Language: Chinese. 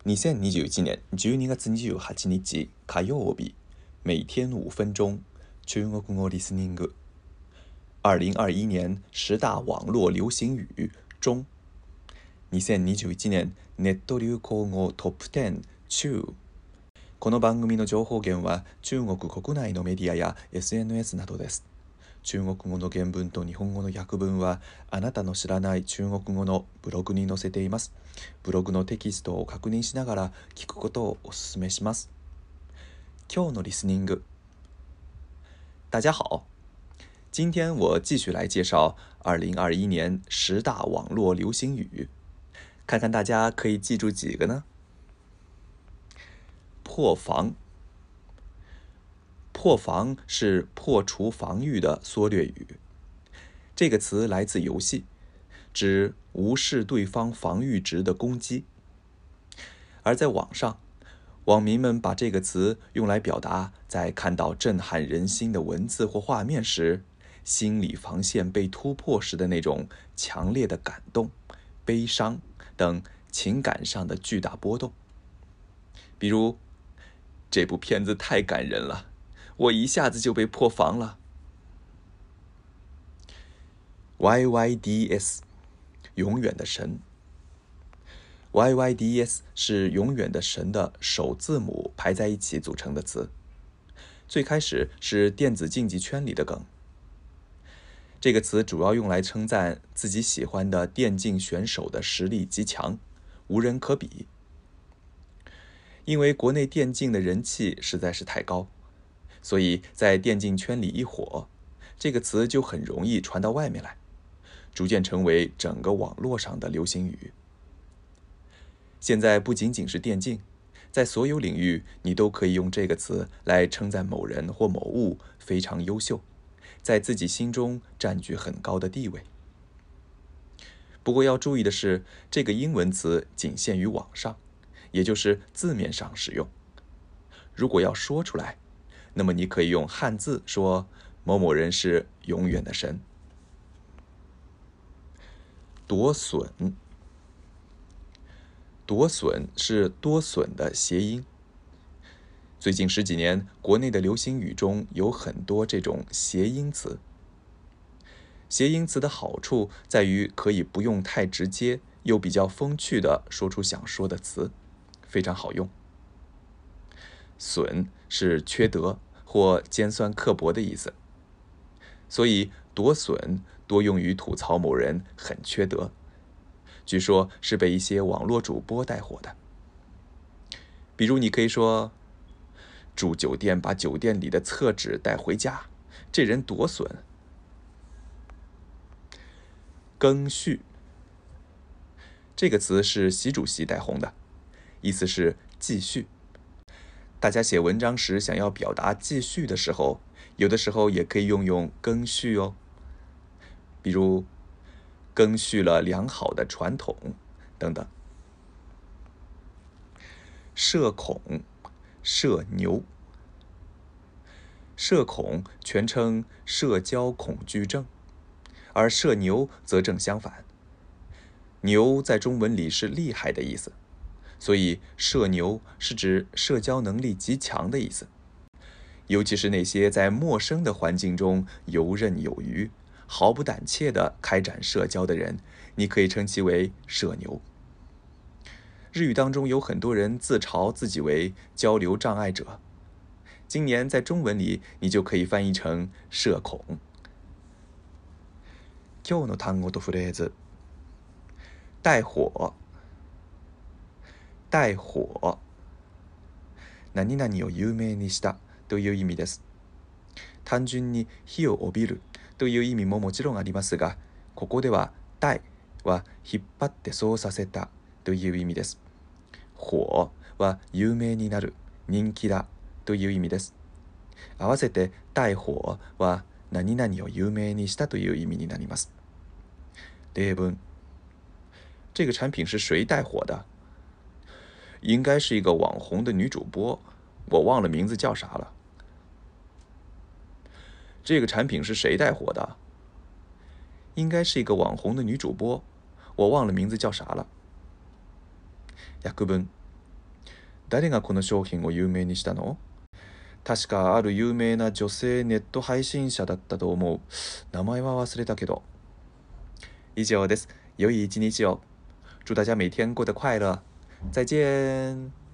2021年12月28日火曜日，每天5分钟，中国語リスニング。2021年10大网络流行语中，2021年ネット流行語トップ10中。この番組の情報源は中国国内のメディアや SNS などです。中国語の原文と日本語の訳文はあなたの知らない中国語のブログに載せています。ブログのテキストを確認しながら聞くことをお勧めします。今日のリスニング。大家好，今天我继续来介绍2021年10大网络流行语，看看大家可以记住几个呢？破防。破防是破除防御的缩略语，这个词来自游戏，指无视对方防御值的攻击。而在网上，网民们把这个词用来表达在看到震撼人心的文字或画面时，心理防线被突破时的那种强烈的感动、悲伤等情感上的巨大波动。比如，这部片子太感人了，我一下子就被破防了。YYDS， 永远的神。YYDS 是永远的神的首字母排在一起组成的词，最开始是电子竞技圈里的梗。这个词主要用来称赞自己喜欢的电竞选手的实力极强，无人可比。因为国内电竞的人气实在是太高，所以在电竞圈里一火，这个词就很容易传到外面来，逐渐成为整个网络上的流行语。现在不仅仅是电竞，在所有领域你都可以用这个词来称赞某人或某物非常优秀，在自己心中占据很高的地位。不过要注意的是，这个英文词仅限于网上，也就是字面上使用。如果要说出来，那么你可以用汉字说某某人是永远的神。夺笋。夺笋是多笋的谐音。最近10几年，国内的流行语中有很多这种谐音词。谐音词的好处在于可以不用太直接，又比较风趣地说出想说的词，非常好用。损是缺德或尖酸刻薄的意思，所以夺笋多用于吐槽某人很缺德，据说是被一些网络主播带火的。比如你可以说，住酒店把酒店里的厕纸带回家，这人多损。更续。这个词是习主席带红的，意思是继续。大家写文章时想要表达继续的时候，有的时候也可以用更续哦。比如更续了良好的传统等等。社恐、社牛。社恐全称社交恐惧症，而社牛则正相反。牛在中文里是厉害的意思，所以社牛是指社交能力极强的意思。尤其是那些在陌生的环境中游刃有余、毫不胆怯地开展社交的人，你可以称其为社牛。日语当中有很多人自嘲自己为交流障碍者，今年在中文里你就可以翻译成社恐。今日の単語とフレーズ。带火。带火。何々を有名にしたという意味です。単純に火を帯びるという意味ももちろんありますが、ここでは帶は引っ張ってそうさせたという意味です。火は有名になる、人気だという意味です。合わせて带火は何々を有名にしたという意味になります。例文。这个产品是谁带火的？应该是一个网红的女主播，我忘了名字叫啥了。这个产品是谁带火的？应该是一个网红的女主播，我忘了名字叫啥了。訳文。 誰がこの商品を有名にしたの？確かある有名な女性ネット配信者だったと思う。名前は忘れたけど。以上です。良い一日を。祝大家每天过得快乐。再见。